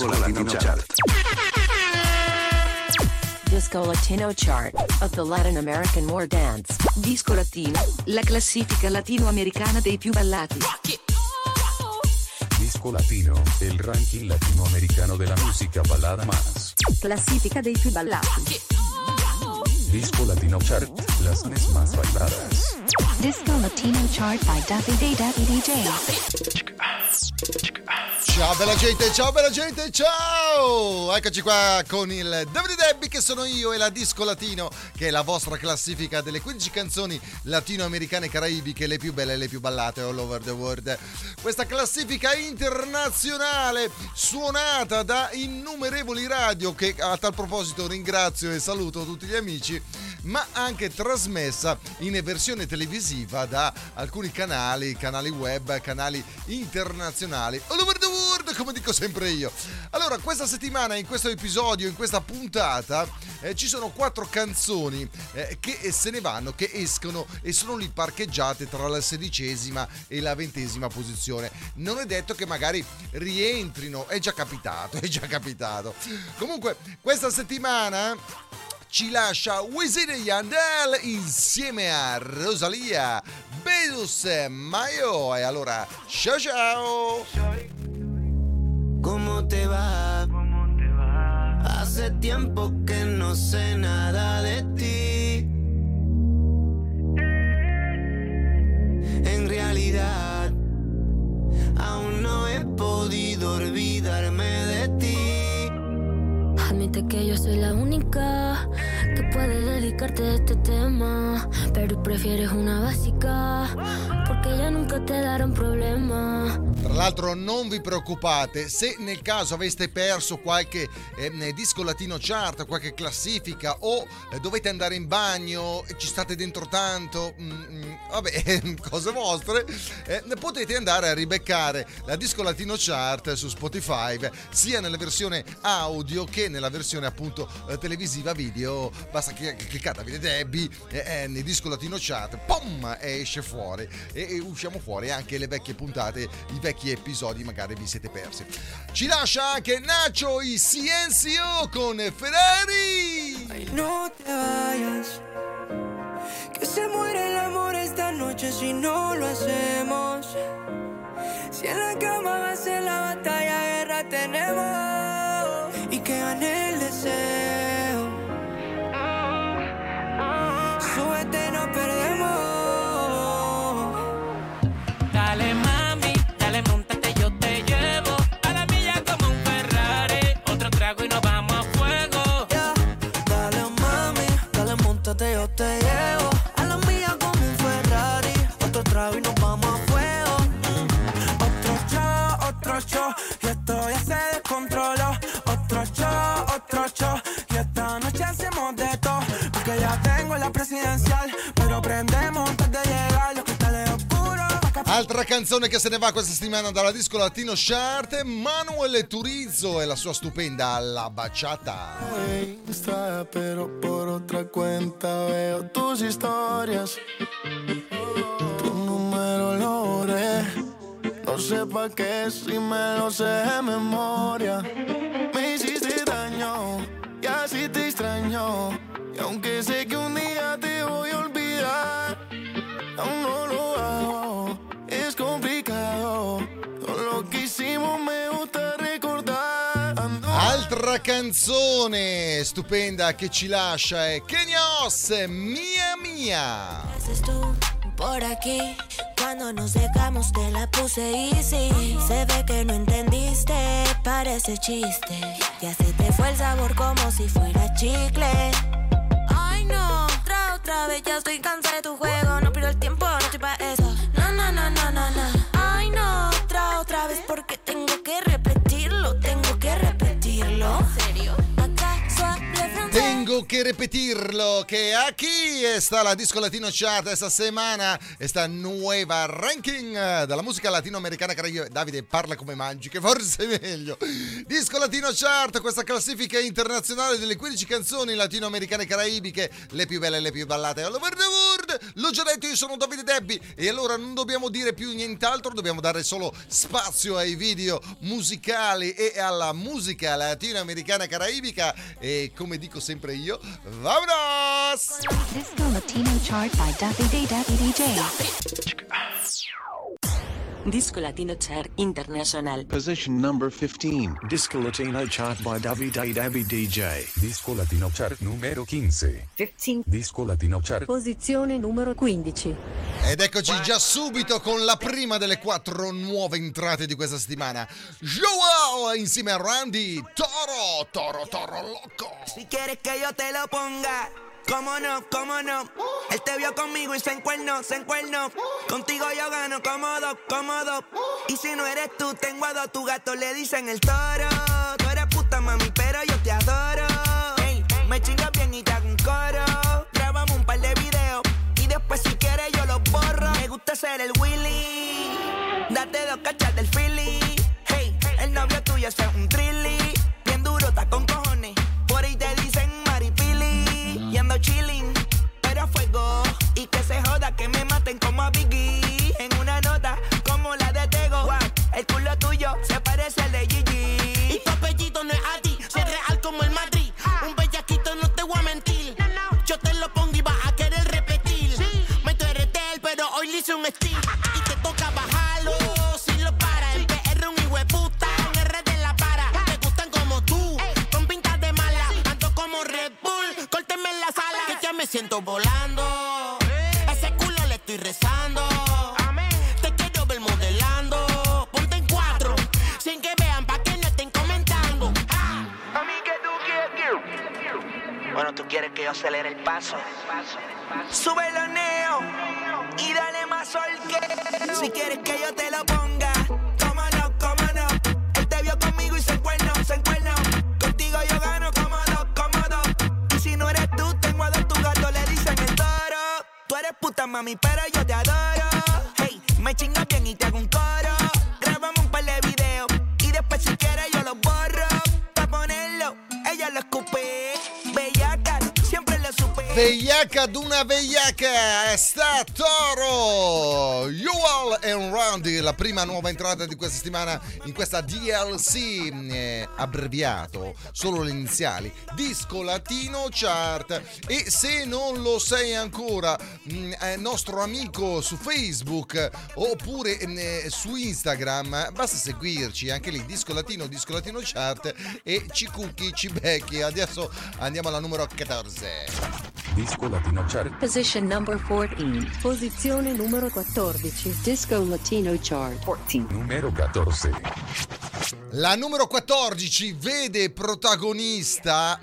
Disco Latino Chart. Disco Latino Chart of the Latin American More Dance. Disco Latino, la classifica latinoamericana dei più ballati. Disco Latino, el ranking latinoamericano de la música balada más. Classifica dei più ballati. Disco Latino Chart, las canciones más bailadas. Disco Latino Chart by Daffy DJ. Ciao bella gente, ciao! Eccoci qua con il Davide Debbie che sono io e la Disco Latino, che è la vostra classifica delle 15 canzoni latinoamericane e caraibiche, le più belle e le più ballate all over the world. Questa classifica internazionale suonata da innumerevoli radio, che a tal proposito ringrazio e saluto tutti gli amici, ma anche trasmessa in versione televisiva da alcuni canali web, canali internazionali all over the world, come dico sempre io. Allora, questa settimana, in questo episodio, in questa puntata, ci sono 4 canzoni che se ne vanno, che escono e sono lì parcheggiate tra la 16ª e la 20ª posizione. Non è detto che magari rientrino, è già capitato. Comunque, questa settimana ci lascia Wisin e Yandel insieme a Rosalía, Bedus Mayo. E allora, ciao! ¿Cómo te va? Hace tiempo que no sé nada de ti. En realidad, aún no he podido olvidarme de ti. Admite que yo soy la única que puede dedicarte a este tema, pero prefieres una básica porque ya nunca te dará un problema. Tra l'altro non vi preoccupate se nel caso aveste perso qualche disco latino chart, qualche classifica, o dovete andare in bagno e ci state dentro tanto, vabbè, cose vostre, potete andare a ribeccare la disco latino chart su Spotify, sia nella versione audio che nella versione appunto televisiva video. Basta che cliccate Davide Debbie nel disco latino chart, pom, esce fuori e usciamo fuori anche le vecchie puntate, i vecchi episodi magari vi siete persi. Ci lascia anche Nacho y Ciencio con Ferrari. Ay, no te vayas, que se muere el amor esta noche si no lo hacemos. Si en la cama va a ser la batalla, guerra tenemos, y que gane el deseo. Súbete, no perdemos. Dale mami, dale montate, yo te llevo a la milla como un Ferrari. Otro trago y nos vamos a fuego. Yeah. Dale mami, dale montate, yo te llevo a la milla como un Ferrari. Otro trago y nos vamos a fuego. Otro show, y esto ya se descontroló. Otro show, y esta noche hacemos de todo. Porque ya tengo la presidencial, pero prendemos antes de llegar. Lo que está de oscuro. Altra canzone che se ne va questa settimana dalla Disco Latino Chart, Manuel Turizo e la sua stupenda La Bachata. Insta, pero por otra cuenta veo tus historias. Tu número lo borré, no sé pa' qué si me lo sé de memoria. Me hiciste daño y así te extraño, y aunque sé que un día te voy a olvidar, aún no lo hago, es complicado. Todo lo que hicimos me gusta recordar. Altra canzone stupenda che ci lascia è Kenyos, Mia Mia. Haces tú por aquí, cuando nos dejamos te la puse easy. Se ve que no entendiste, parece chiste. Ya se te fue el sabor como si fuera chicle. Ay no, otra vez ya estoy cansada de tu juego. No pierdo el tiempo, no estoy pa' eso. No. Ay no, otra vez porque tengo que repetirlo. ¿En serio? ¿Acaso Tengo tengo que repetirlo, que aquí está la Disco Latino Chart esta semana, esta nuova ranking della musica latinoamericana. Davide parla come mangi, che forse è meglio. Disco Latino Chart, questa classifica internazionale delle 15 canzoni latinoamericane caraibiche, le più belle e le più ballate all over the world. L'ho già detto, io sono Davide Debbi e allora non dobbiamo dire più nient'altro, dobbiamo dare solo spazio ai video musicali e alla musica latinoamericana caraibica e come dico sempre io, vámonos! Disco Latino Chart by Davide DJ. Disco Latino Chart International. Position number 15. Disco Latino Chart by Davide DJ. Disco Latino Chart numero 15. 15. Disco Latino Chart. Posizione numero 15. Ed eccoci già subito con la prima delle 4 nuove entrate di questa settimana. Joel insieme a Randy, Toro loco. Si quieres que yo te lo ponga, cómo no, cómo no. Él te vio conmigo y se encuernó. Contigo yo gano cómodo. Y si no eres tú, tengo a dos. Tu gato le dicen el toro. Tú eres puta, mami, pero yo te adoro. Ey, me chingas bien y te hago un coro. Grabamos un par de videos y después si quieres yo los borro. Me gusta ser el Willy, date 2 cachas del Philly. Hey, el novio tuyo es un trilly. Bien duro, está con cojones. Por ahí te dicen maripili. Y ando chilling, pero a fuego. Y que se joda, que me maten como a Biggie. En una nota como la de Tego. Wow, el culo tuyo se parece al de Gigi. Y tu apellido no es Adi, soy real como el Madrid. Un bellaquito, no te voy a mentir. Yo te lo pongo y vas a querer repetir. Meto RTL, pero hoy le hice un estilo. Y te toca bajarlo, si lo para. El PR un hijo de puta, en R de la para. Te gustan como tú, con pintas de mala. Ando como Red Bull, córteme en la sala. Que ya me siento volando. A ese culo le estoy rezando. Te quiero ver modelando. Ponte en 4, sin que vean pa' que no estén comentando. A mí que tú quieres. Bueno, tú quieres que yo acelere el paso. Sube los neos y dale más sol que. Si quieres que yo te lo ponga, cómo no. Él te vio conmigo y se encuernó. Contigo yo gano cómodo. Y si no eres tú, tengo a 2. Tu gato le dicen el toro. Tú eres puta, mami, pero yo te adoro. Hey, me chingas bien y te hago un coro. Grabamos un par de videos y después si quieres yo los borro. Pa' ponerlo, ella lo escupe. Bellaca, siempre lo supe. Vegliaca d'una vegliaca, sta Toro, Joel and Randy, la prima nuova entrata di questa settimana in questa DLC, abbreviato, solo le iniziali, Disco Latino Chart. E se non lo sei ancora, nostro amico su Facebook oppure su Instagram, basta seguirci, anche lì Disco Latino Chart, e ci cucchi, ci becchi. Adesso andiamo alla numero 14. Disco Latino Chart. Position number 14. Posizione numero 14. Disco Latino Chart 14. Numero 14. La numero 14 vede protagonista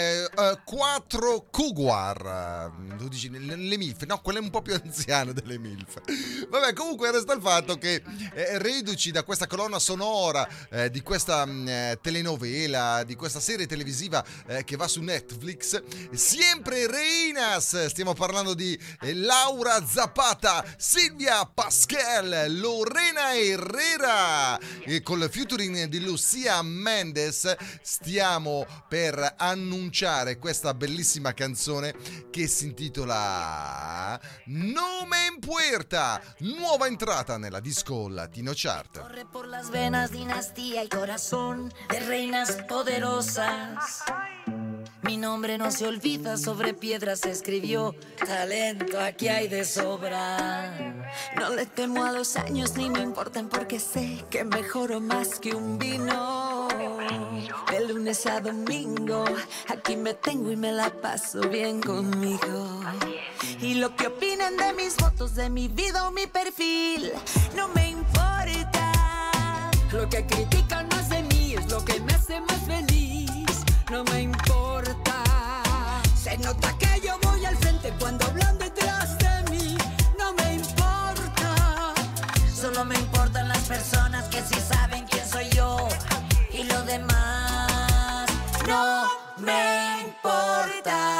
4 Cougar. Tu dici le MILF? No, quelle un po' più anziane delle MILF. Vabbè, comunque resta il fatto che reduci da questa colonna sonora di questa telenovela, di questa serie televisiva che va su Netflix, sempre Reinas. Stiamo parlando di Laura Zapata, Silvia Pasquel, Lorena Herrera, e col featuring di Lucia Mendes stiamo per annunciare questa bellissima canzone che si intitola No Me Importa, nuova entrata nella Disco Latino Chart. Corre por las venas, dinastía y corazón de reinas poderosas. Mi nombre no se olvida, sobre piedras se escribió. Talento aquí hay de sobra. No le temo a los años ni me importan porque sé que mejoro más que un vino. De lunes a domingo aquí me tengo y me la paso bien conmigo. Y lo que opinen de mis fotos, de mi vida o mi perfil, no me importa. Lo que critican más de mí es lo que me hace más feliz. No me importa. Se nota que yo voy al frente cuando hablan detrás de mí. No me importa. Solo me importan las personas que sí saben quién soy yo. Y lo demás no me importa.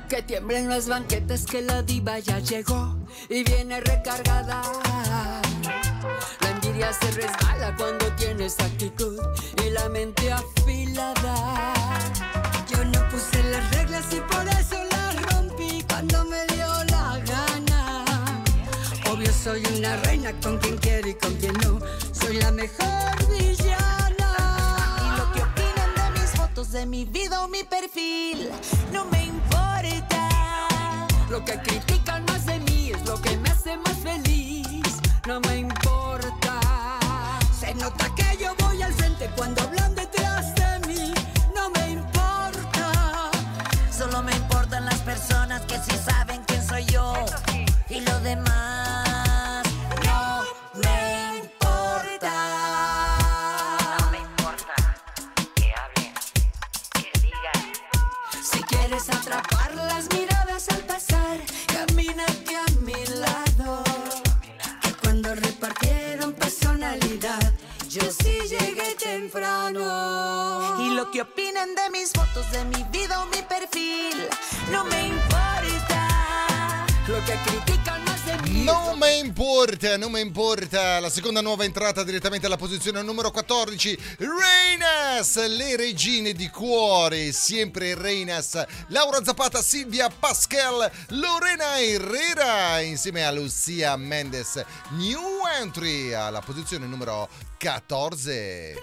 Que tiemblen las banquetas que la diva ya llegó y viene recargada. La envidia se resbala cuando tienes actitud y la mente afilada. Yo no puse las reglas y por eso las rompí cuando me dio la gana. Obvio soy una reina con quien quiero y con quien no. Soy la mejor villana. Y lo que opinan de mis fotos, de mi vida o mi perfil, no me importa. Lo que critican más de mí es lo que me hace más feliz. No me importa. Se nota que yo voy al frente cuando hablan detrás de mí. No me importa. Solo me importan las personas que sí saben quién soy yo. Y lo demás no me importa. No me importa que hablen, que digan. Si quieres atrapar las miradas al pasar, camínate a mi lado. Que cuando repartieron personalidad, yo sí llegué temprano. Y lo que opinen de mis fotos, de mi vida o mi perfil, no me importa. Lo que critican más de mí. Non me importa, non me importa. La seconda nuova entrata direttamente alla posizione numero 14. Reinas, le regine di cuore, sempre Reinas. Laura Zapata, Silvia Pascal, Lorena Herrera insieme a Lucia Mendes. New entry alla posizione numero 14.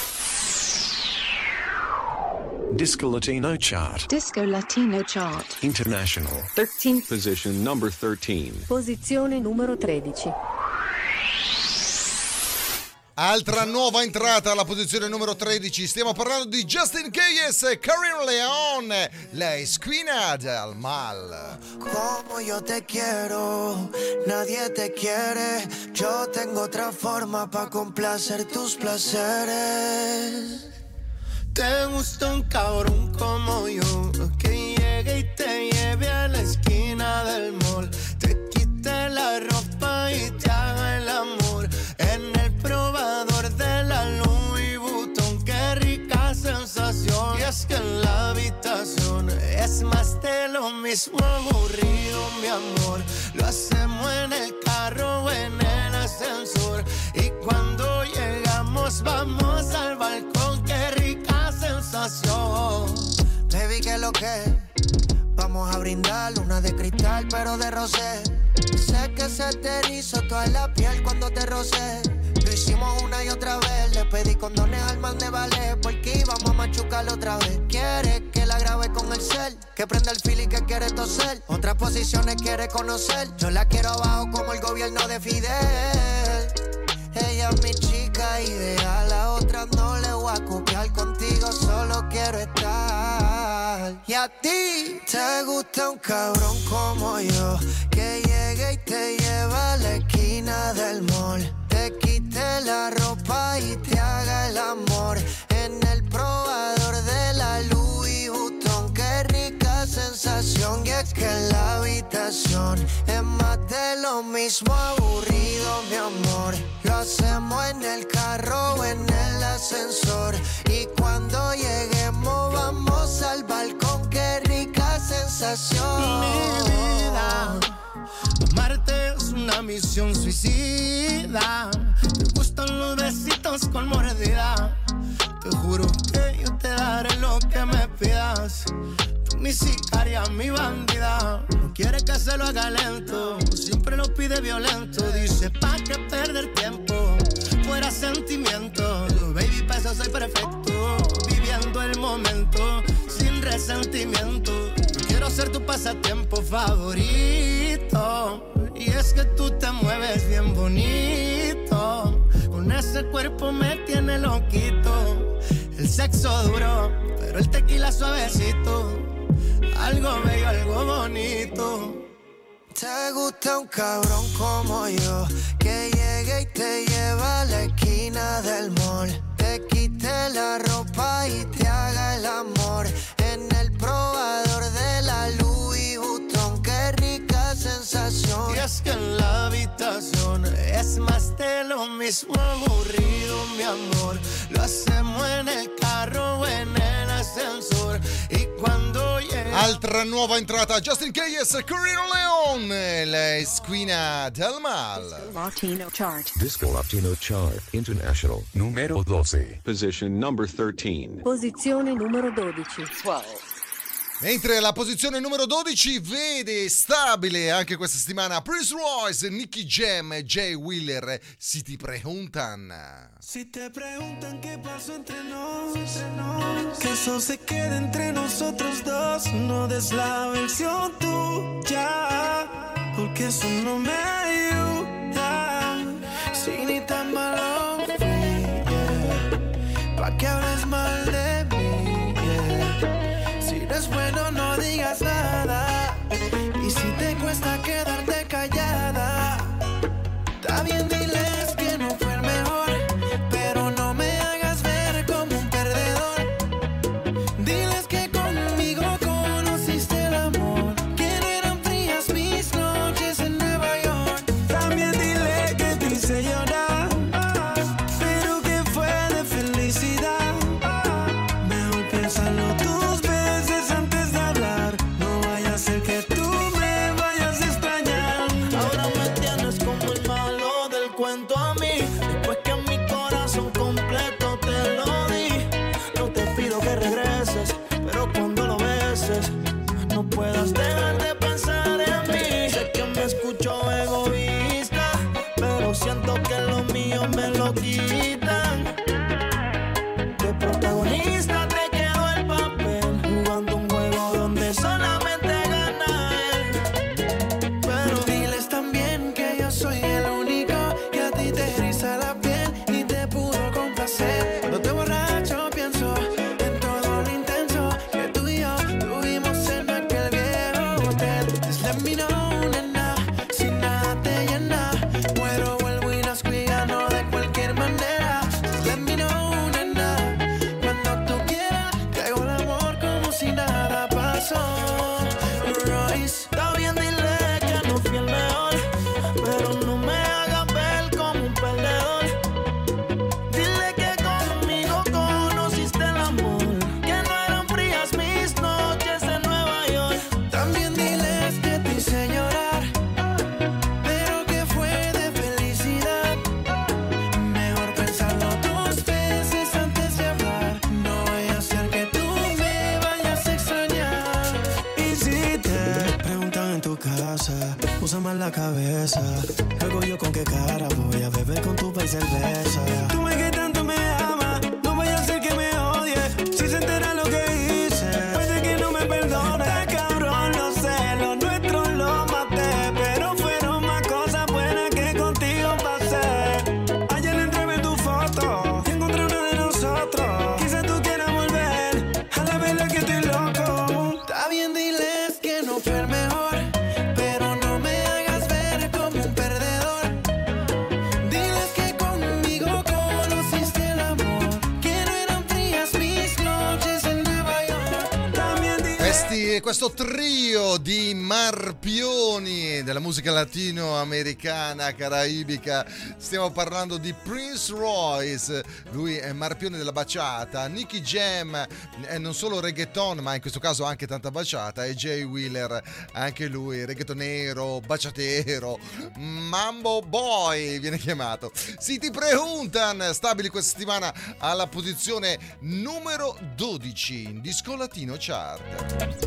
Disco Latino Chart. Disco Latino Chart. International. 13. Position number 13. Posizione numero 13. Altra nuova entrata alla posizione numero 13. Stiamo parlando di Justin Quiles e Karim León, la esquina del mal. Como yo te quiero, nadie te quiere. Yo tengo otra forma para complacer tus placeres. Te gusta un cabrón como yo, que llegue y te lleve a la esquina del mall, te quite la ropa y te haga el amor en el probador de la Louis Vuitton. Qué rica sensación. Y es que en la habitación es más de lo mismo aburrido, mi amor. Lo hacemos en el carro o en el ascensor, y cuando llegamos vamos al balcón. Qué rica sensación. Baby, ¿qué es lo que? Vamos a brindar una de cristal pero de rosé. Sé que se te erizó toda la piel cuando te rocé. Lo hicimos una y otra vez. Le pedí condones al man de ballet porque íbamos a machucarlo otra vez. Quiere que la grabe con el cel, que prenda el fili que quiere toser. Otras posiciones quiere conocer. Yo la quiero abajo como el gobierno de Fidel. Ella es mi chica ideal, a otra no le voy a copiar. Contigo solo quiero estar. Y a ti te gusta un cabrón como yo, que llegue y te lleva a la esquina del mall, te quite la ropa y te haga el amor en el probador de la Louis Vuitton. Qué rica sensación. Y es que en la habitación es más de lo mismo aburrido, mi amor. Lo hacemos en el carro o en el ascensor, y cuando lleguemos vamos al balcón. Qué rica sensación. Mi vida, amarte es una misión suicida. Me gustan los besitos con mordida. Te juro que yo te daré lo que me pidas. Tú mi sicaria, mi bandida. No quiere que se lo haga lento, siempre lo pide violento. Dice pa' qué perder tiempo, fuera sentimiento. Baby, pa' eso soy perfecto, viviendo el momento sin resentimiento. Quiero ser tu pasatiempo favorito, y es que tú te mueves bien bonito. Con ese cuerpo me tiene loquito. El sexo duro, pero el tequila suavecito. Algo bello, algo bonito. Te gusta un cabrón como yo, que llegue y te lleva a la esquina del mall, te quite la ropa y te haga el amor en el probador de la Louis Vuitton. Qué rica sensación. Y es que en la habitación es más de lo mismo aburrido, mi amor. Lo hacemos en el carro o en el ascensor, y cuando llegue Altra nuova entrata, Justin Keyes, Corino Leon, la squina del mal. Latino Chart. Disco Latino Chart International numero 12. Position number 13. Posizione numero 12. 12. Mentre la posizione numero 12 vede stabile anche questa settimana Prince Royce, Nicky Jam e Jay Wheeler. Si te preguntan. Si te preguntan qué pasó entre nos, que eso se quede entre nosotros dos. No des la versión tuya, porque eso no me ayuda. Si ni tan malo fui, yeah, pa' que hables mal de mí, yeah. Si no es bueno no digas nada, y si te cuesta quedarte callada, está bien, diles que no fue el mejor, pero no me hagas ver como un perdedor. Diles que conmigo conociste el amor, que no eran frías mis noches en Nueva York. También dile que te hice llorar, pero que fue de felicidad. Mejor piénsalo tus veces antes de hablar, no vaya a ser que tú me vayas a extrañar. Ahora me tienes como el malo del cuento a mí, después que mi corazón completo te lo di. No te pido que regreses, pero cuando lo beses no puedas dejar de pensar en mí. Sé que me escucho egoísta, pero siento que lo mío me lo quitan. De protagonista te quedó el papel, jugando un juego donde solamente gana él. Pero diles también que yo soy el único que a ti te eriza la piel y te pudo complacer. Cuando te borracho pienso en todo lo intenso que tú y yo tuvimos en aquel viejo hotel. Just let me know, nena, si nada te llena, muero, vuelvo y nazco y gano de cualquier manera. Just let me know, nena, cuando tú quieras, te hago el amor como si nada pasó. Royce, está bien, dile que no fui el mejor, pero no me hagas ver como un perdedor. Dile que conmigo conociste el amor, que no eran frías mis noches en Nueva York. También diles que te hice llorar, pero que fue de felicidad. Mejor pensarlo dos veces antes de hablar, no vaya a ser que tú me vayas a extrañar. Y si te preguntan en tu casa, usa más la cabeza. Luego yo con qué cara voy a beber con tu país cerveza. Tú me que tanto me amas, no vaya a ser que me odie. Si se entera lo que hice, puede que no me perdone. Está cabrón, lo sé, lo nuestro lo maté, pero fueron más cosas buenas que contigo pasé. Ayer entré en tu foto y encontré una de nosotros. Quizás tú quieras volver, a la verdad que estoy loco. Está bien, diles que no fue el mejor, pero no me hagas ver como un perdedor. Diles que conmigo conociste el amor, que no eran frías mis noches en Nueva York. También diles Questo trio di marpioni della musica latinoamericana, caraibica. Stiamo parlando di Prince Royce, lui è marpione della baciata. Nicky Jam è non solo reggaeton, ma in questo caso anche tanta baciata. E Jay Wheeler, anche lui reggaetonero, baciatero, mambo boy viene chiamato. Si ti preguntan, stabili questa settimana alla posizione numero 12 in Disco Latino Chart.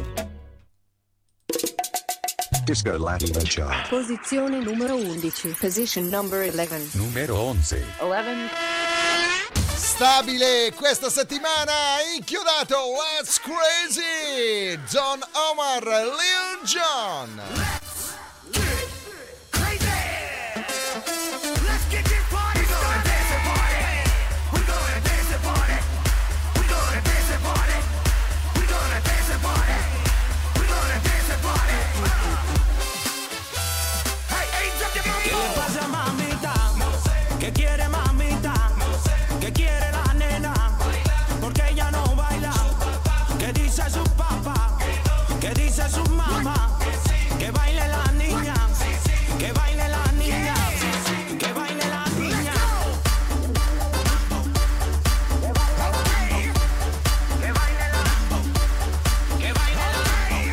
Disco Latino Chart Posizione numero 11. Position number 11. numero 11. 11. Stabile questa settimana, inchiodato Let's Crazy, Don Omar, Lil Jon. ¿Qué le pasa, mamita? ¿Qué quiere, mamita? ¿Qué quiere la nena? Porque ella no baila. ¿Qué dice su papá? ¿Qué dice su mamá? Que baile la niña. Que baile la niña. Que baile la niña. Que baile la. Que baile la.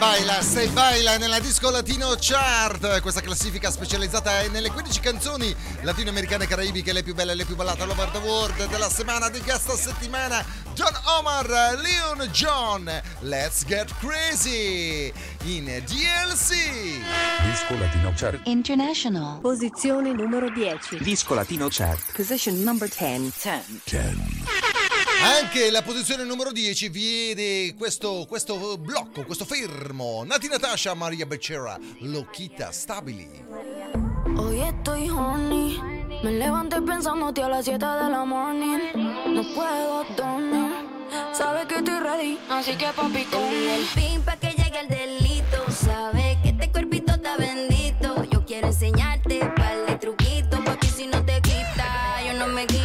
Se baila nella Disco Latino Chart, questa classifica specializzata nelle 15 canzoni latinoamericane e caraibiche, le più belle e le più ballate all over the world della settimana. Di questa settimana Don Omar, Leon John, Let's Get Crazy in DLC. Disco Latino Chart. International. Posizione numero 10. Disco Latino Chart. Position number 10. Anche la posizione numero 10 vede questo blocco, questo fermo. Nati Natasha, Maria Becerra, Loquita Stabili. Hoy estoy horny, me levanté pensándote a las 7 de la morning. No puedo dormir, sabes que estoy ready, así que papi con el pin pa' que llegue el delito. Sabes que este cuerpito está bendito. Yo quiero enseñarte par de truquitos, papi si no te quita, yo no me quito.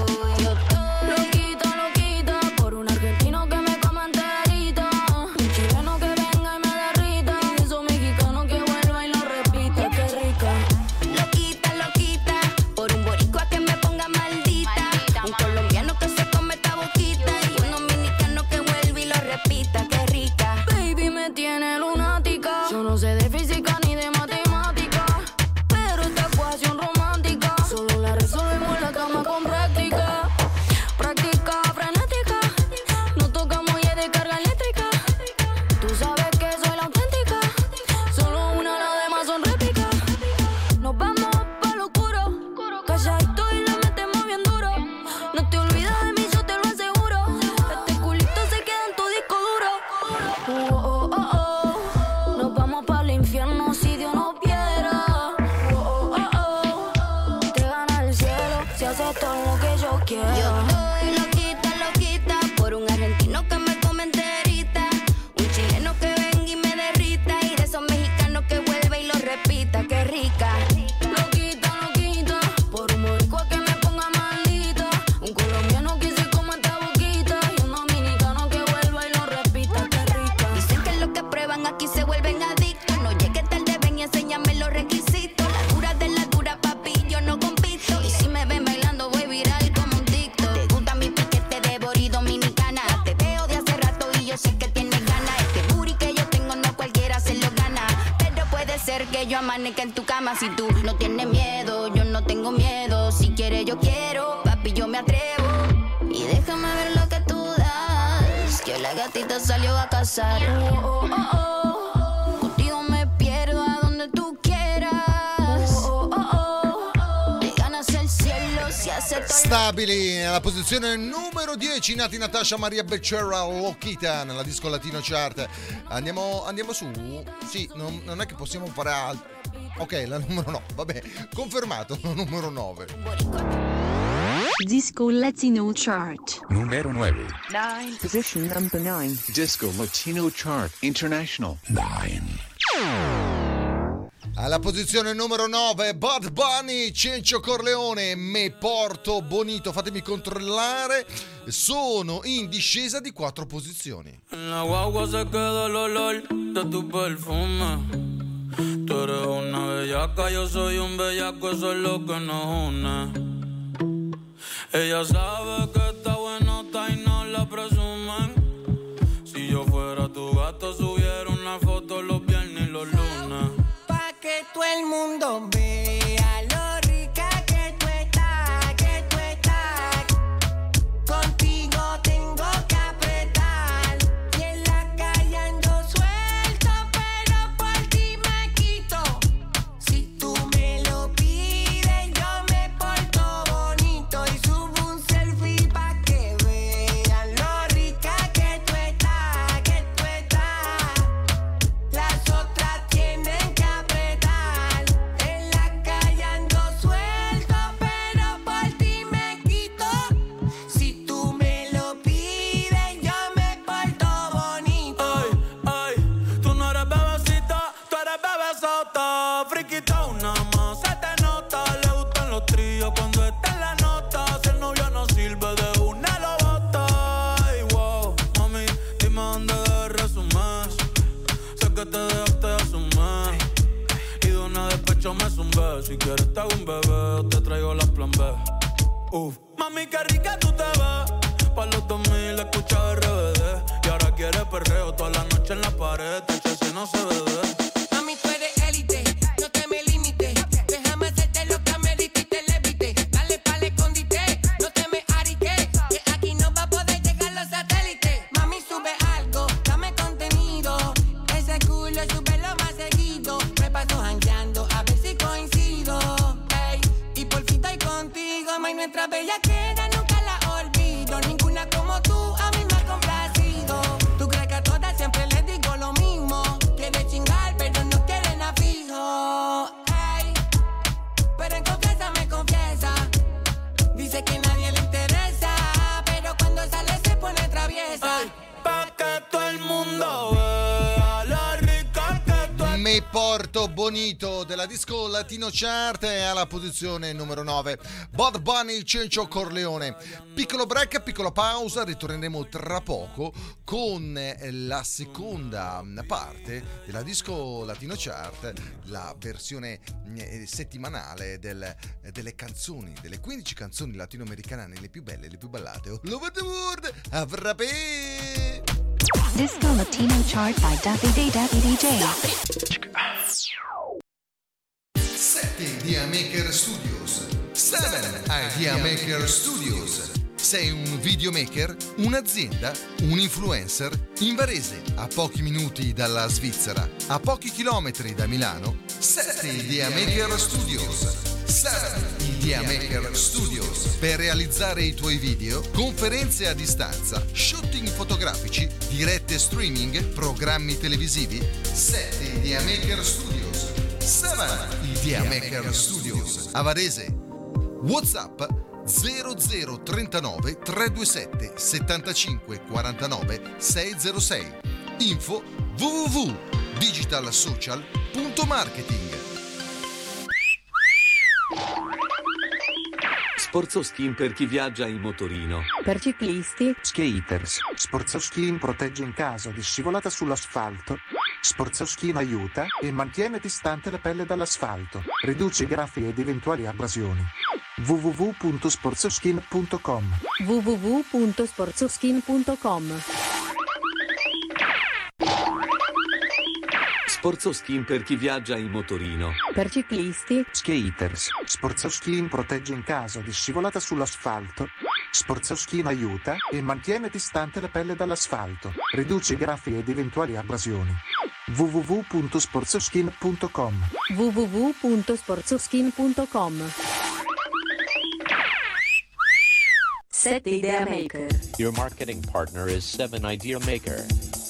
Que en tu cama si tú no tienes miedo, yo no tengo miedo. Si quieres yo quiero, papi yo me atrevo. Y déjame ver lo que tú das, que la gatita salió a cazar. Contigo me pierdo a donde tú quieras. Te ganas el cielo si acepto. Stabili nella posizione numero 10, Nati Natasha, Maria Becerra, Loquita nella Disco Latino Chart. Andiamo su? Sì, non è che possiamo fare altro. Ok, la numero 9, vabbè, confermato, la numero 9. Disco Latino Chart. Numero 9. 9. Position number 9. Disco Latino Chart International. 9. Alla posizione numero 9, Bad Bunny, Cencio Corleone, Me Porto Bonito. Fatemi controllare, sono in discesa di 4 posizioni. En la guagua se queda el olor de tu perfume. Tú eres una bellaca, yo soy un bellaco, eso es lo que nos une. Ella sabe que está buenota y no la presumen. Si yo fuera tu gato, subiera una foto los viernes y los lunes. Pa' que todo el mundo vea lo rica que tú estás, que tú estás. Contigo tengo que apretar. Y en la calle ando suelto, pero por ti me quito. Si tú me lo pides, yo me porto bonito. Y subo un selfie pa' que vean lo rica que tú estás, que tú estás. Las otras tienen que apretar. En la calle ando suelto, pero por ti me quito. Si tú me lo pides, yo me porto bonito. Ay, ay, tú no eres bebecita, tú eres bebesota. Friquita una más, se te nota. Le gustan los tríos cuando está en la nota. Si el novio no sirve, de una lo bota. Ay, wow, mami, dime dónde debes resumir. Sé que te dejaste asumir. Y de una despecho me zumbé. Si quieres te hago un bebé o te traigo la plan B. Mami, qué rica tú te ves. pa' los 2000 escuchaba RBD. Y ahora quiere perreo toda la noche en la pared. Si no se bebe. Mami, tú eres élite, no te me limites. Déjame hacerte lo que amerita y te levite. Dale pa'l escondite, no te me ariques. Que aquí no va a poder llegar los satélites. Mami, sube algo, dame contenido. Ese culo súbelo más seguido. Me paso jangueando a ver si coincido. Ey, y por fin estoy contigo. May, nuestra bella queda, nunca la olvido. Ninguna como tú a mí me ha complacido. Tú crees que a todas siempre les digo lo mismo. Quiere chingar, pero no quiere nada fijo. Ey, pero en confianza me confiesa. Dice que nadie le interesa, pero cuando sale se pone traviesa. Ay, pa' que todo el mundo vea la rica que tú eres. Me porto bonito della disco Latino Chart è alla posizione numero 9. Bad Bunny, Cencio Corleone. Piccolo break, piccola pausa, ritorneremo tra poco con la seconda parte della disco Latino Chart, la versione settimanale delle canzoni, delle 15 canzoni latinoamericane, le più belle, le più ballate all over the world. A frappè! Disco Latino Chart by Davide DJ. 7 Idea Maker Studios. 7 Idea Maker Studios. Sei un videomaker, un'azienda, un influencer? In Varese, a pochi minuti dalla Svizzera, a pochi chilometri da Milano, 7 Idea Maker Studios. 7 Idea Maker Studios. Per realizzare i tuoi video, conferenze a distanza, shooting fotografici, dirette streaming, programmi televisivi, 7 Idea Maker Studios. 7 Idea Maker Studios. A Varese. WhatsApp 0039 327 75 49 606. Info www.digitalsocial.marketing. Sportsoskin per chi viaggia in motorino. Per ciclisti. Skaters. Sportsoskin protegge in caso di scivolata sull'asfalto. Sportsoskin aiuta e mantiene distante la pelle dall'asfalto. Riduce i graffi ed eventuali abrasioni. www.sportsoskin.com. www.sportsoskin.com. Sportsoskin per chi viaggia in motorino. Per ciclisti. Skaters. Sportsoskin protegge in caso di scivolata sull'asfalto. Sportsoskin aiuta e mantiene distante la pelle dall'asfalto. Riduce i graffi ed eventuali abrasioni. www.sportsoskin.com. www.sportsoskin.com. 7 Idea Maker. Your marketing partner is 7 Idea Maker.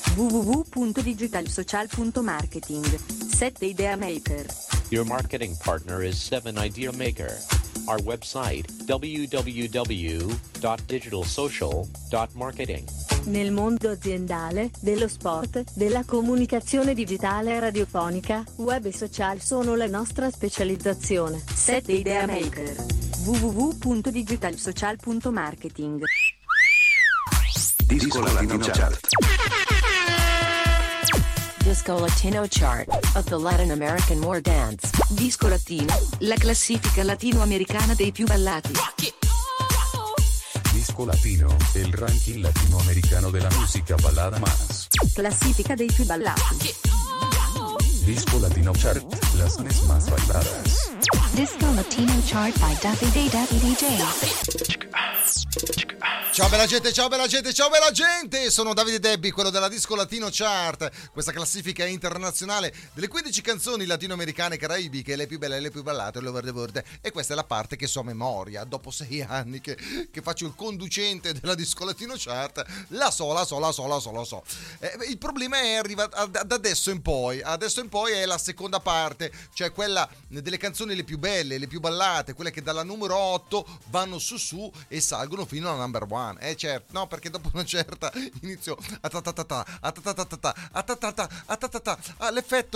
www.digitalsocial.marketing. 7 Idea Maker. Your marketing partner is 7 Idea Maker. Our website www.digitalsocial.marketing. Nel mondo aziendale, dello sport, della comunicazione digitale e radiofonica, web e social sono la nostra specializzazione. 7 Idea Maker. www.digitalsocial.marketing. Disco Latino Chart. Disco Latino Chart of the Latin American War Dance. Disco Latino, la classifica latinoamericana dei più ballati. Disco Latino, el ranking latinoamericano de la música balada más. Classifica dei più ballati. Disco Latino Chart, las canciones más bailadas. Disco Latino Chart by Davide DJ. Ciao bella gente, ciao bella gente, ciao bella gente! Sono Davide Debbi, quello della Disco Latino Chart, questa classifica internazionale delle 15 canzoni latinoamericane caraibiche, le più belle e le più ballate all over the world. E questa è la parte che so a memoria, dopo 6 anni che faccio il conducente della Disco Latino Chart, la so. Il problema è arrivato da adesso in poi è la seconda parte, cioè quella delle canzoni le più belle, le più ballate, quelle che dalla numero 8 vanno su e salgono fino alla number 1. Certo, no, perché dopo una certa inizio l'effetto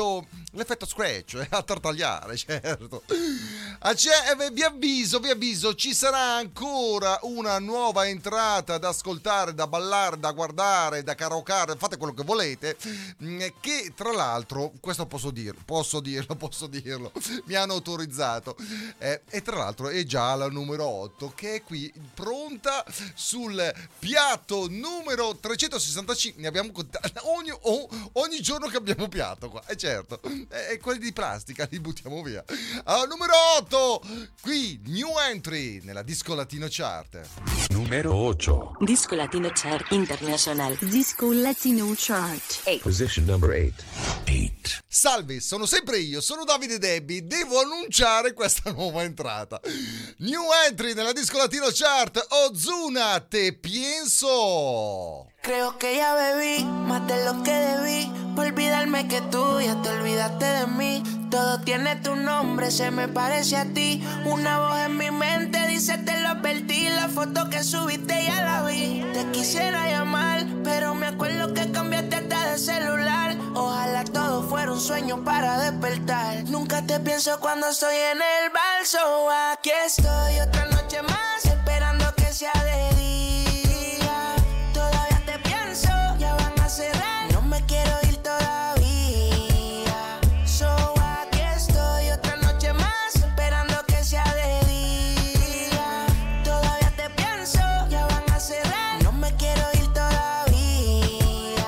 l'effetto scratch, a tartagliare, certo. Vi avviso, ci sarà ancora una nuova entrata da ascoltare, da ballare, da guardare, da karaoke, fate quello che volete, che tra l'altro, questo posso dirlo, mi hanno autorizzato, e tra l'altro è già la numero 8 che è qui pronta sul piatto numero 365, ne abbiamo contato ogni giorno che abbiamo piatto qua, certo, e quelli di plastica li buttiamo via. Allora, numero 8, qui new entry nella Disco Latino Chart. Numero 8. Disco Latino Chart International. Disco Latino Chart. Position number 8. Salve, sono sempre io, sono Davide Debbie, devo annunciare questa nuova entrata. New entry nella Disco Latino Chart, Ozuna, Te Pienso. Creo que ya bebí más de lo que debí, por olvidarme que tú ya te olvidaste de mí. Todo tiene tu nombre, se me parece a ti. Una voz en mi mente dice te lo advertí. La foto que subiste ya la vi. Te quisiera llamar, pero me acuerdo que cambiaste hasta de celular. Ojalá todo fuera un sueño para despertar. Nunca te pienso cuando estoy en el bar. So aquí estoy otra noche más, esperando que sea de día. Todavía te pienso, ya van a cerrar. No me quiero ir todavía. So aquí estoy otra noche más, esperando que sea de día. Todavía te pienso, ya van a cerrar. No me quiero ir todavía.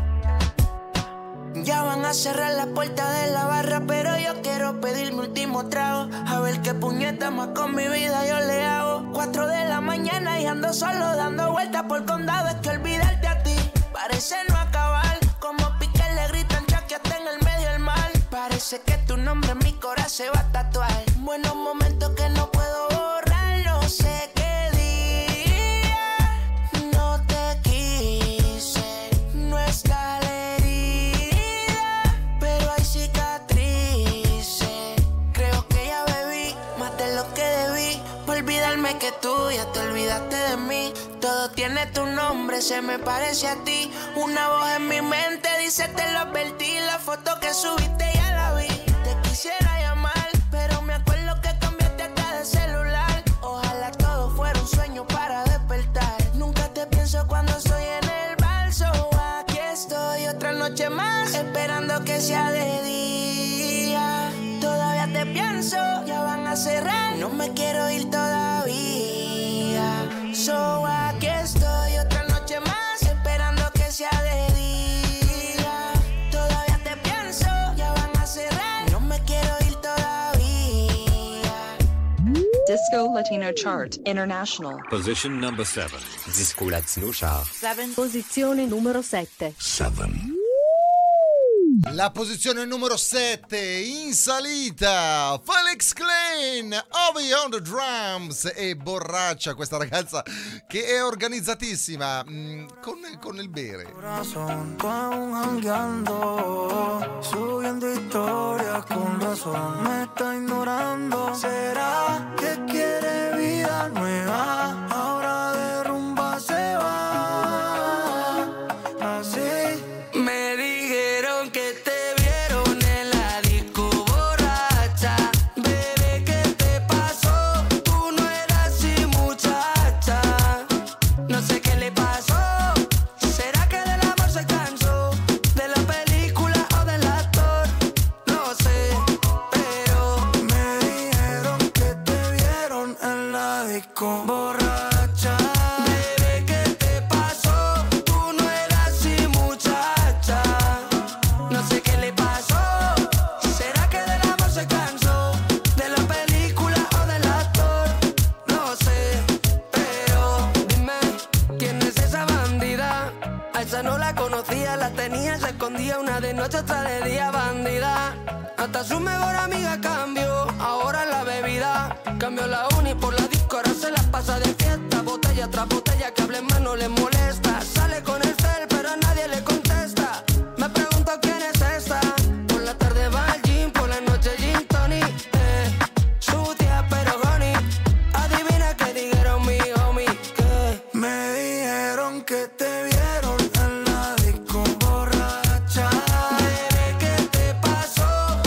Ya van a cerrar la puerta de la barra, pero yo quiero pedir mi último trago. A ver qué puñeta más con mi vida yo le hago. 4 de la mañana y ando solo dando vueltas por condado. Es que olvidarte a ti parece no acabar. Como Piqué le gritan Chucky hasta en el medio del mar. Parece que tu nombre en mi corazón se va a tatuar. Buenos momentos que no puedo borrar. No sé qué día no te quise. No está la herida, pero hay cicatrices. Creo que ya bebí más de lo que debí, por olvidarme que tú ya te olvidaste de mí. Todo tiene tu nombre, se me parece a ti. Una voz en mi mente dice te lo advertí. La foto que subiste ya la vi. Te quisiera llamar, pero me acuerdo que cambiaste hasta de celular. Ojalá todo fuera un sueño para despertar. Nunca te pienso cuando estoy en el bar. So aquí estoy otra noche más, esperando que sea de día. Todavía te pienso, ya van a cerrar. No me quiero ir todavía. So aquí estoy otra noche más, esperando que sea de día. Todavía te pienso, ya van a cerrar. No me quiero ir todavía. Disco Latino Chart International. Position number 7. Disco Latino Chart. Posizione numero 7. La posizione numero 7 in salita, Felix Klein, Ovi on the drums, e borraccia questa ragazza che è organizzatissima con il bere. Corazón, tú aún jangueando, subiendo historias con razón, me está ignorando. ¿Será que quiere vida nueva? Ahora de rumba se va, así. Me dijeron que te vieron en la disco borracha. Bebé, ¿qué te pasó? Tú no eras así, muchacha. No sé qué le pasó. ¿Será que del amor se cansó? ¿De la película o del actor? No sé, pero me dijeron que te vieron en la disco borracha. bebé, ¿qué te pasó? Tú no eras así, muchacha. No sé qué le pasó. ¿Será que del amor se cansó? ¿De la película o del actor? No sé, pero dime, ¿quién es esa bandida? A esa no la conocía, la tenía, se escondía, una de noche, otra de día, bandida. Hasta su mejor amiga cambió, ahora la bebida. Cambió la uni por la disco, ahora se la pasa de fiesta. Botella tras botella, que hable más no le molesta. Sale con el cel, pero a nadie le contesta. Me pregunto quién es esta. Por la tarde va al gym, por la noche gin tonic. Sucia pero honey. Adivina qué dijeron mi homie. Que Me dijeron que te vieron en la disco borracha. bebé, ¿qué te pasó?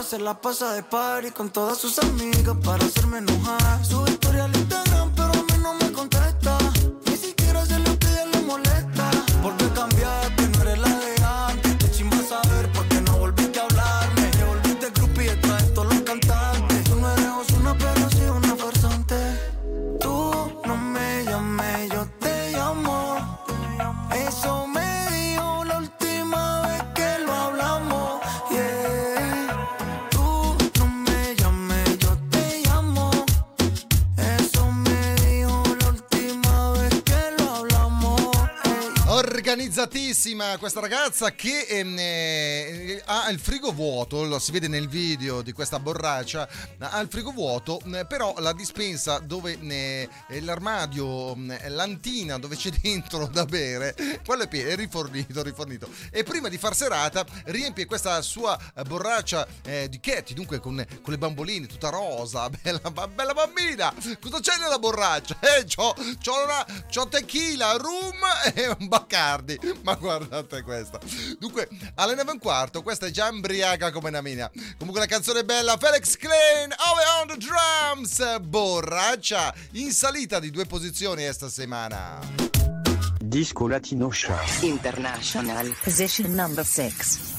se la pasa de party con todas sus amigas para hacerme enojar. Sube historia al Instagram, pero a mí no me contesta. Ni siquiera sé lo que a ella le molesta. ¿Por qué cambiaste? No eres la de antes. Qué chimba saber por qué no volviste a hablarme. Te volviste groupie detrás de todos los cantantes. Tú no eres Ozuna, pero sí una farsante. Tú no me llames, yo te llamo. Eso me dijo la última vez que lo hablamos. Yeah. Tú no me llames, yo te llamo. Eso me dijo la última vez que lo hablamos. Organizzatissima questa ragazza che ha il frigo vuoto, lo si vede nel video di questa borraccia, ha il frigo vuoto, però la dispensa dove l'armadio, l'antina dove c'è dentro da bere, quello è pieno, è rifornito. E prima di far serata riempie questa sua borraccia di Katy, dunque con le bamboline, tutta rosa, bella bambina. Cosa c'è nella borraccia? C'ho tequila, rum e un Bacardi, ma guardate questa. Dunque alle 9:15 questa è già embriaca come una mina. Comunque la canzone è bella. Felix Klein, Over on the Drums, borraccia, in salita di 2 posizioni esta settimana. Disco Latino Chart International. Position number 6.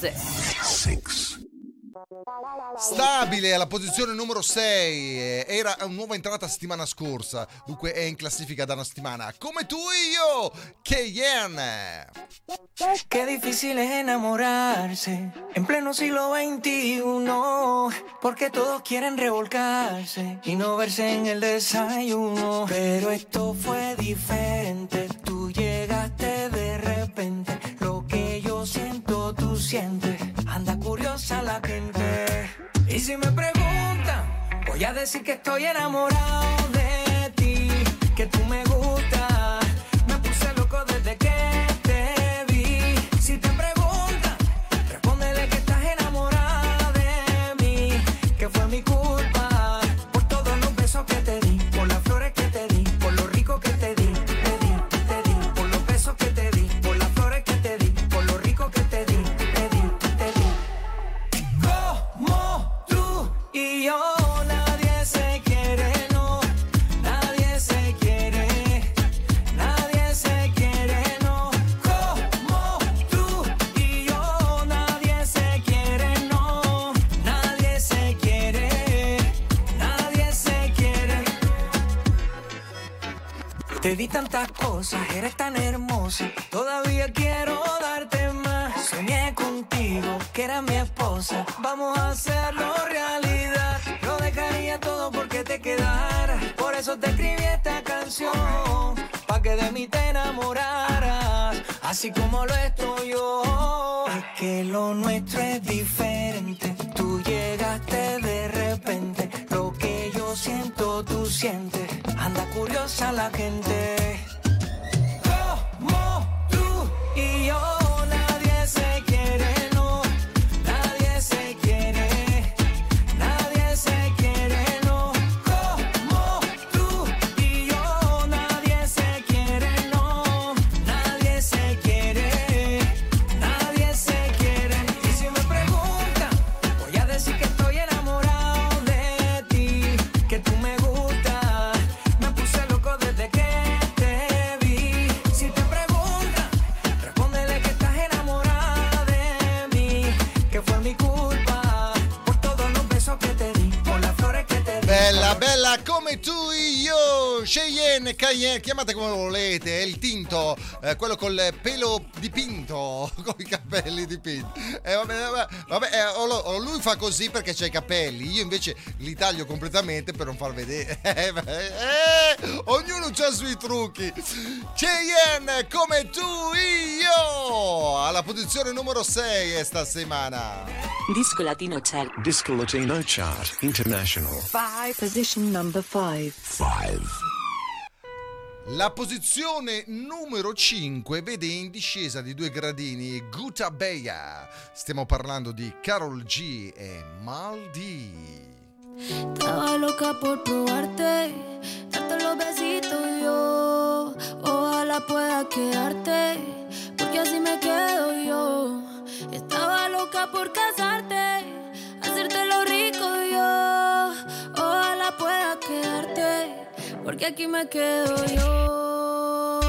Stabile alla posizione numero 6, era una nuova entrata settimana scorsa, dunque è in classifica da una settimana. Come tu e io, Cheyenne. Qué difícil es enamorarse en pleno siglo XXI, porque todos quieren revolcarse y no verse en el desayuno. Pero esto fue diferente, tú llegaste de repente, lo que yo siento tú sientes, anda curiosa la gente. Y si me preguntan, voy a decir que estoy enamorado de ti, que tú me gustas, me puse loco desde que te vi. Si te preguntan, respóndele que estás enamorada de mí, que fue mi culpa por todos los besos que te di, por las flores que te di, por lo rico que te di, por los besos que te di, por las flores que te di, por lo rico que te di, te di. Como tú y yo, nadie se quiere, no, nadie se quiere, nadie se quiere, no. Como tú y yo, nadie se quiere, no, nadie se quiere, nadie se quiere. Te di tantas cosas, eres tan hermosa, todavía quiero darte más. Soñé contigo, que era mi esposa, vamos a hacerlo realidad. Lo dejaría todo porque te quedaras, por eso te escribí esta canción, pa' que de mí te enamoraras, así como lo estoy yo. Es que lo nuestro es diferente, tú llegaste de repente, lo que yo siento tú sientes, anda curiosa la gente. Como tú y yo, nadie se quiere, no, nadie se quiere, nadie se quiere, no. Como tú y yo, nadie se quiere, no, nadie se quiere, nadie se quiere. Y si me preguntan, voy a decir que estoy enamorado de ti, que tú me gustas, me puse loco desde que te vi. Si te preguntan, respóndele que estás enamorada de mí, que fue mi culpa por todos los besos que te di, por las flores que te di. Bella come tu e io, Cheyenne, Cayenne, chiamate come volete, è il tinto, quello col pelo dipinto, con i capelli dipinti. O lui fa così perché c'ha i capelli, io invece li taglio completamente per non far vedere. Ognuno c'ha i suoi trucchi. Cheyenne, come tu e io, alla posizione numero 6 sta settimana. Disco Latino Chart. Disco Latino Chart International. 5. Position number 5. La posizione numero 5 vede in discesa di 2 gradini Guta Bella. Stiamo parlando di Karol G e Maldi. Estaba loca por probarte, darte los besitos yo. Ojalá pueda quedarte, porque así me quedo yo. Estaba loca por casarte, hacerte lo porque aquí me quedo yo.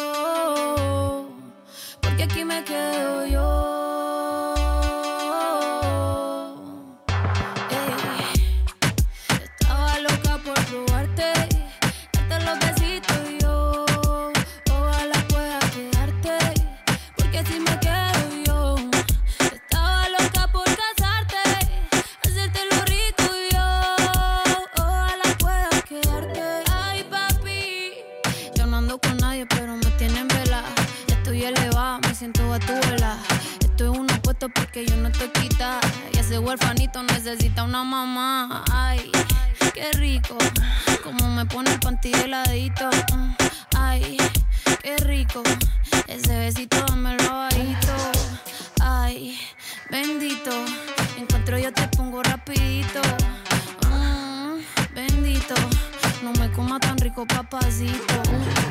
Porque aquí me quedo yo. Estaba loca por probarte, darte los besitos y yo. Ojalá pueda quedarte, porque así me quedo yo. Estaba loca por casarte, hacerte lo rico y yo. Ojalá pueda quedarte. Ay, papi, yo no ando con nadie, pero me tienen vela. Estoy elevada, me siento a tu vela. Estoy en un puesto porque yo no estoy quita. Y ese huerfanito necesita una mamá. Ay, qué rico, como me pone el panty heladito. Ay, qué rico, ese besito dámelo bajito. Ay, bendito, encuentro yo te pongo rapidito. Bendito, no me coma tan rico, papacito.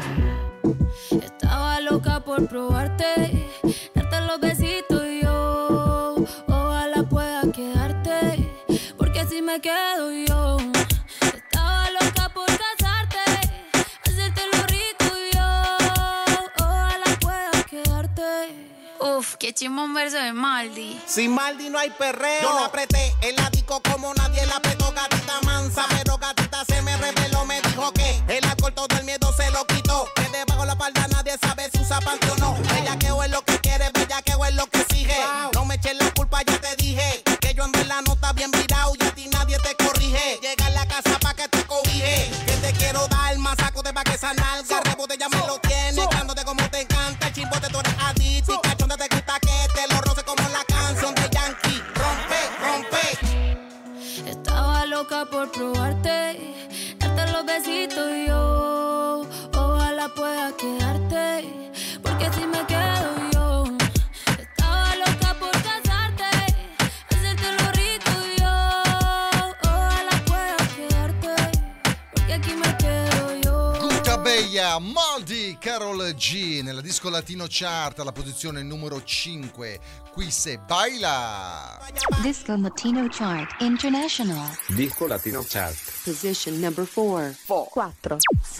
Estaba loca por probarte, darte los besitos y yo. Ojalá pueda quedarte, porque así me quedo yo. Estaba loca por casarte, hacerte lo rico y yo. Ojalá pueda quedarte. Uf, qué chimón verso de Maldi. Sin Maldi no hay perreo. Yo la apreté en la disco como nadie la apretó, gatita mansa. Pero gatita se me reveló, me dijo que el alcohol todo el miedo se lo quitó. Que debajo la falda nadie sabe si usa panty o no. Bellaqueo es lo que quiere, bellaqueo es lo que exige. No me eches la culpa, ya te dije que yo ando en la nota bien virado y a ti nadie te corrige. Llega a la casa pa' que te cobije, que te quiero dar más saco de pa' que esa nalga. Rebote ya me lo tienes, dándote como te encanta. El chimbote tú eres adicto y cachonda te gusta que te lo roce como la canción de Yankee. Rompe, rompe. Estaba loca por probarte, darte los besitos y yo. Ojalá pueda quedarte, porque así me quedo yo. Estaba loca por casarte, hacerte lo rico y yo. Ojalá pueda quedarte, porque aquí me quedo yo. Gutta Bella, Maldi, Karol G nella disco latino chart alla posizione numero 5. Qui se baila. Disco Latino Chart International. Disco Latino Chart. Position number 4. 4.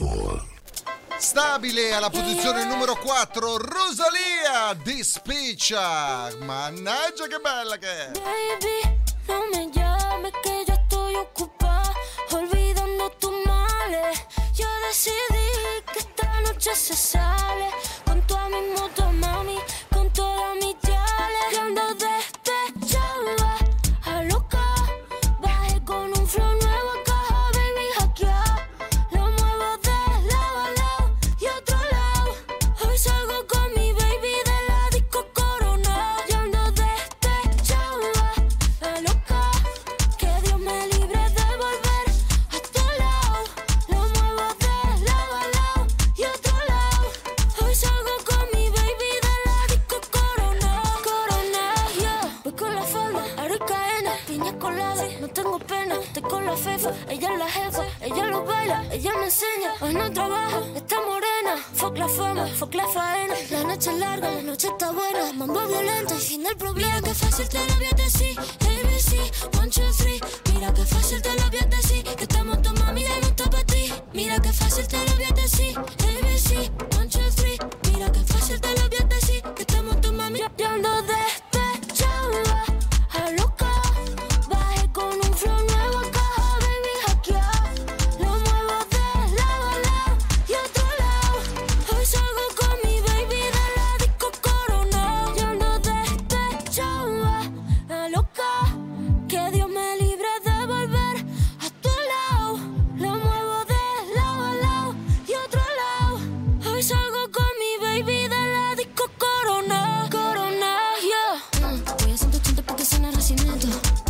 Stabile alla posizione numero 4, Rosalía, Dispiccia. Mannaggia che bella che è. Baby, no me llames que yo estoy ocupada, olvidando tus males. Yo decidí que esta noche se sale con toda mi moto, mami, con todas mis yales. Yo ando despechada, a loca, bajé con un flow nuevo acá, baby, hackear. Lo muevo de lado a lado y otro lado. Hoy salgo con mi baby de la disco Corona. Yo ando despechada, a loca, que Dios me libre de volver a tu lado. Lo muevo de lado a lado y otro lado. Hoy salgo con mi baby de la disco Corona. Corona, yeah. Voy con la falda, aro y cadena, piña colada, no tengo pena. Estoy con la fefa, ella es la jefa, ella lo baila, ella me enseña. Hoy no trabaja, está morena. Fuck la fama, fuck la faena. La noche es larga, la noche está buena. Mambo violento y fin del problema. Mira que fácil te lo voy a decir, ABC, 1, 2, 3. Mira que fácil te lo voy a decir, que estamos tu mami y no está pa' ti. Mira que fácil te lo voy a decir, ABC, 1, 2, 3. Mira que fácil te lo voy a decir, que estamos tu mami. Yo ando despechada, a loca, bajé con un flow nuevo acá, baby, hackear. Lo muevo de lado a lado y otro lado. Hoy salgo con mi baby de la disco Corona. Yo ando despechada, a loca, que Dios me libre de volver a tu lado. Lo muevo de lado a lado y otro lado. Hoy salgo con mi baby de la disco Corona. Corona, yeah. Voy a 180 porque suena recinito.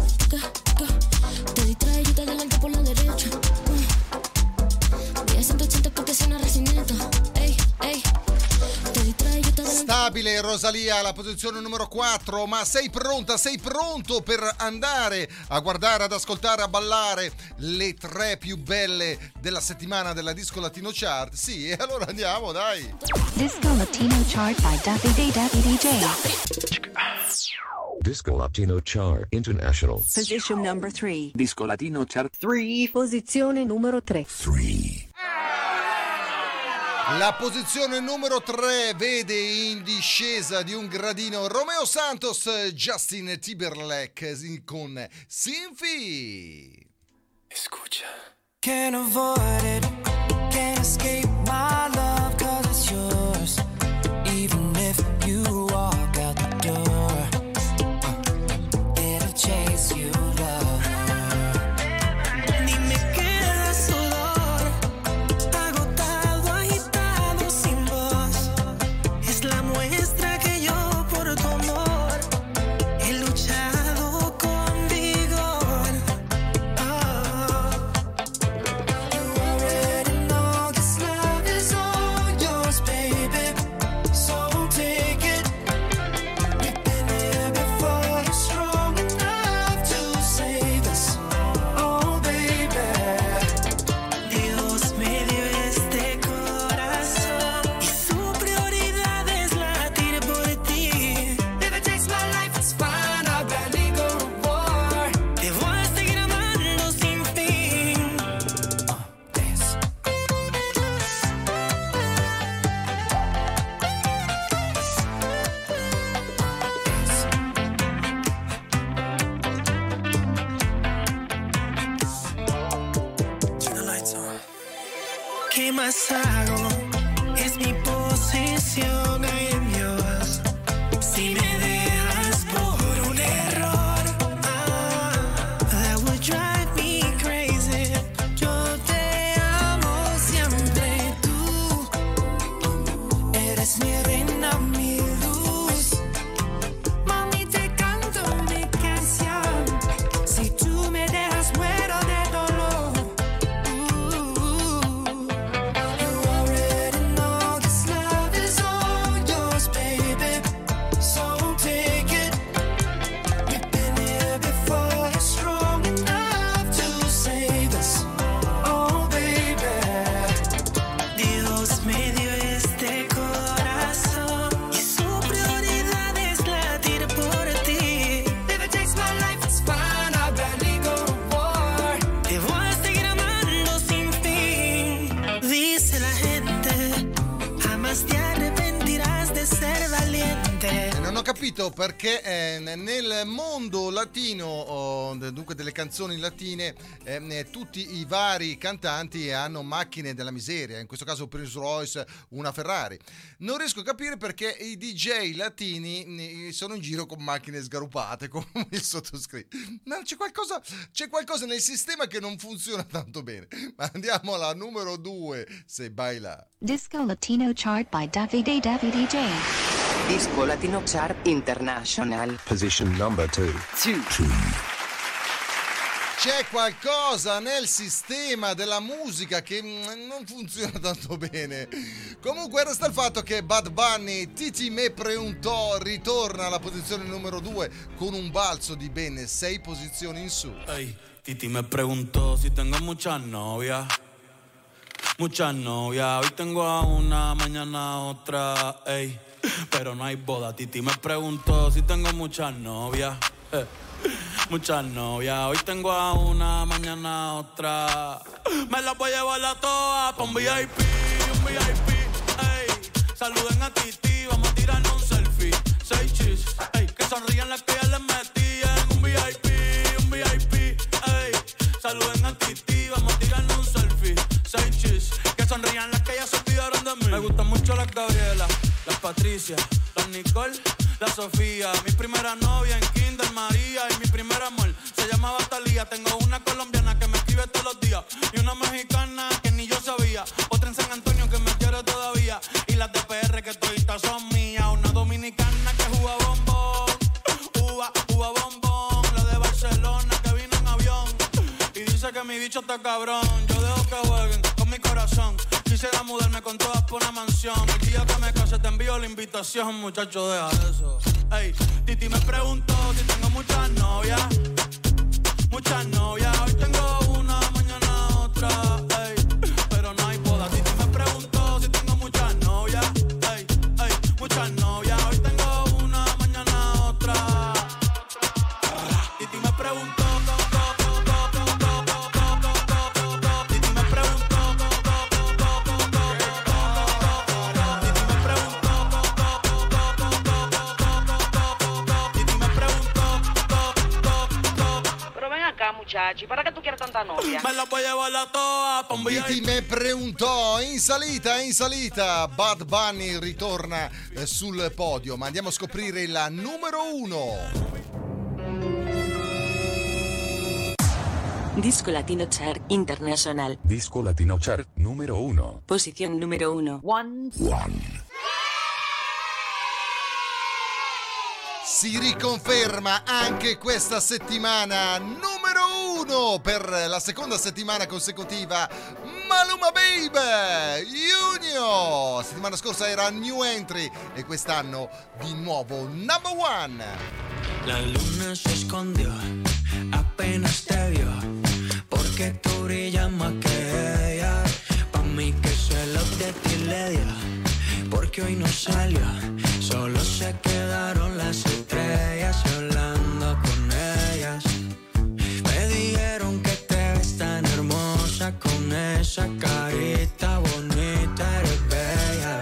Te distrae y te adelanta por la derecha. Voy a 180 porque suena recinito. Ey, ey. Te distrae y te adelanta. Stabile Rosalía alla posizione numero 4, ma sei pronta, sei pronto per andare a guardare, ad ascoltare, a ballare le 3 più belle della settimana della Disco Latino Chart? Sì, e allora andiamo, dai. Disco Latino Chart by Davide DJ. Disco Latino Chart International. Position number 3. Disco Latino Chart 3. Posizione numero 3. 3. La posizione numero 3 vede in discesa di un gradino Romeo Santos, Justin Timberlake con Sinfi. Escucha. Can't avoid it, can't escape my love, 'cause it's yours. Even if you walk out the door, it'll chase you, love. Ni me queda sudor, agotado, agitado, sin voz. Es la muestra que yo por tu amor he luchado con vigor. You already know this love is all yours, baby. So take it. We've been here before. You're strong enough to save us. Oh, baby. Dios me dio este corazón y su prioridad es latir por ti. If it takes my life, it's fine. I'll gladly go to war. Te voy a seguir amando sin fin. Dance. Turn the lights on. ¿Qué más hago? Es mi posesión, I am yours. Si me dejas por un error, that would drive me crazy. Yo te amo siempre, tú eres mi reina, mi luz. Mami, te canto mi canción. Si tú me dejas, muero de dolor. You already know this love is all yours, baby. So take it. We've been here before. You're strong enough to save us. Oh, baby. Dios me dio este corazón y su prioridad es latir por ti. If it takes my life, it's fine. I'll gladly go to war. Te voy a seguir amando sin fin. Dice la gente, jamás te arrepentirás de ser valiente. Non ho capito perché nel mondo latino, dunque delle canzoni latine, tutti i vari cantanti hanno macchine della miseria, in questo caso Prince Royce una Ferrari. Non riesco a capire perché i DJ latini sono in giro con macchine sgarupate come il sottoscritto. No, c'è qualcosa nel sistema che non funziona tanto bene. Ma andiamo alla numero 2, Se Baila. Disco Latino Chart by Davide DJ. Disco Latino Chart International. Position number 2. C'è qualcosa nel sistema della musica che non funziona tanto bene. Comunque resta il fatto che Bad Bunny, Titi me preguntò, ritorna alla posizione numero 2 con un balzo di ben 6 posizioni in su. Ey, Titi me preguntó si tengo muchas novias. Muchas novias, hoy tengo a una, mañana a otra, ey. Pero no hay boda. Titi me preguntó si tengo muchas novias. Muchas novias, hoy tengo a una, mañana a otra. Me las voy a llevar a todas pa' un VIP, ey. Saluden a Titi, vamos a tirarnos un selfie. 6 chis, ey. Que sonrían las que ya les metí en un VIP, ey. Saluden a Titi, vamos a tirarnos un selfie. 6 chis, que sonrían las que ya se olvidaron de mí. Me gustan mucho las Gabriela, las Patricia, las Nicole, la Sofía. Mi primera novia en Kinder María y mi primer amor se llamaba Talía. Tengo una colombiana que me escribe todos los días y una mexicana que ni yo sabía. Otra en San Antonio que me quiere todavía y las de PR que toditas son mías. Una dominicana que juega bombón, uva bombón. La de Barcelona que vino en avión y dice que mi bicho está cabrón. Yo dejo que jueguen con mi corazón. Quisiera mudarme con todas por una mansión. El día que me case te envío la invitación, muchacho, deja eso. Ey, Titi me preguntó si tengo muchas novias. Muchas novias, hoy tengo una, mañana otra, ey. Pero no hay boda. Titi me preguntó si tengo muchas novias. Ey, muchas novias, hoy tengo una, mañana otra. Titi me preguntó. buscar muchachi. ¿Para qué tú quieres tanta novia? Me la voy a llevar a todas pa' un Viti me preguntò, in salita, Bad Bunny ritorna sul podio, ma andiamo a scoprire la numero 1. Disco Latino Chart International. Disco Latino Chart número 1. Posición número 1. Si riconferma anche questa settimana numero 1 per la seconda settimana consecutiva Maluma Baby Junior. Settimana scorsa era new entry e quest'anno di nuovo number 1. La luna se escondió, apenas te vio, porque tú brillas más que ella. Pa' mí que celos de ti le dio, porque hoy no salió, solo se quedaron las estrellas y hablando con ellas. Me dijeron que te ves tan hermosa con esa carita bonita, eres bella.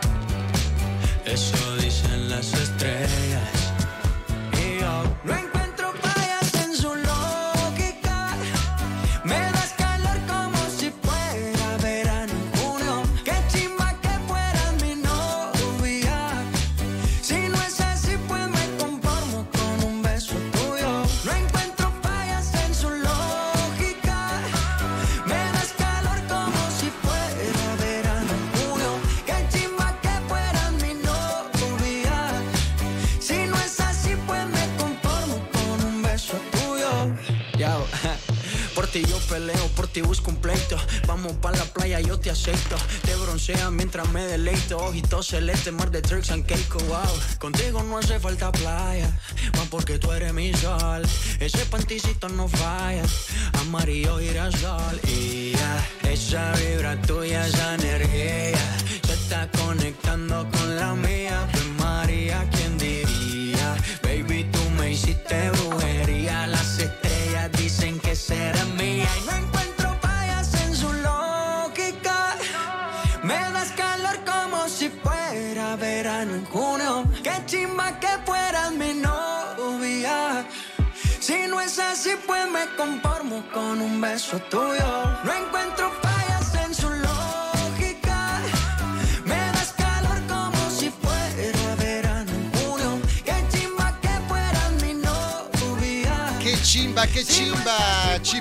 Eso dicen las estrellas. Y yo no encuentro fallas en su lógica. Me das calor como si fuera verano en junio. Qué chimba que fueras mi novia. Si no es así, pues me conformo con un beso tuyo. No encuentro fallas en su lógica. Me das calor como si fuera verano en junio. Qué chimba que fueras mi novia. Si no es así, pues me conformo con un beso tuyo. Yo, por ti yo peleo, por ti busco un pleito. Vamos pa' la playa, yo te aceito. Te bronceas mientras me deleito. Ojitos celeste, mar de tricks and cake, wow. Contigo no hace falta playa, más porque tú eres mi sol. Ese panticito no falla, amarillo girasol. Y ya, esa vibra tuya, esa energía se está conectando con la mía. Pues María, ¿quién diría? Baby, tú me hiciste brujería. Las estrellas dicen que será mía. Y no encuentro fallas en su lógica. Me das calor como si fuera verano en junio. Qué chimba que fueras mi novia. Si no es así, pues me conformo con un beso tuyo. No encuentro fallas en su lógica. Me das calor como si fuera verano en junio. Qué chimba que fueras mi novia. Che cimba, ci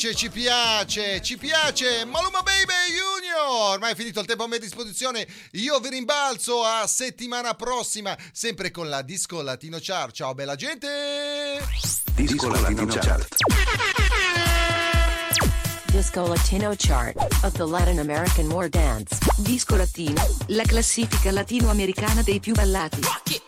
piace, Maluma Baby Junior. Ormai è finito il tempo a mia disposizione, io vi rimbalzo a settimana prossima, sempre con la Disco Latino Chart. Ciao bella gente! Disco Latino Chart. Disco Latino Chart of the Latin American War Dance. Disco Latino, la classifica latinoamericana dei più ballati.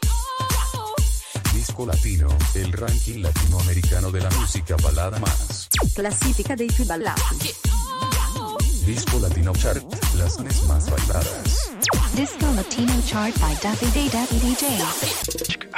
Disco Latino, el ranking latinoamericano de la música balada más. Classifica dei più ballati. Disco Latino Chart, las canciones más bailadas. Disco Latino Chart by Daffy Day DJ.